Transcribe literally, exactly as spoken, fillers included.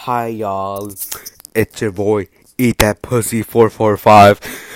Hi y'all, it's your boy Eat That Pussy four four five.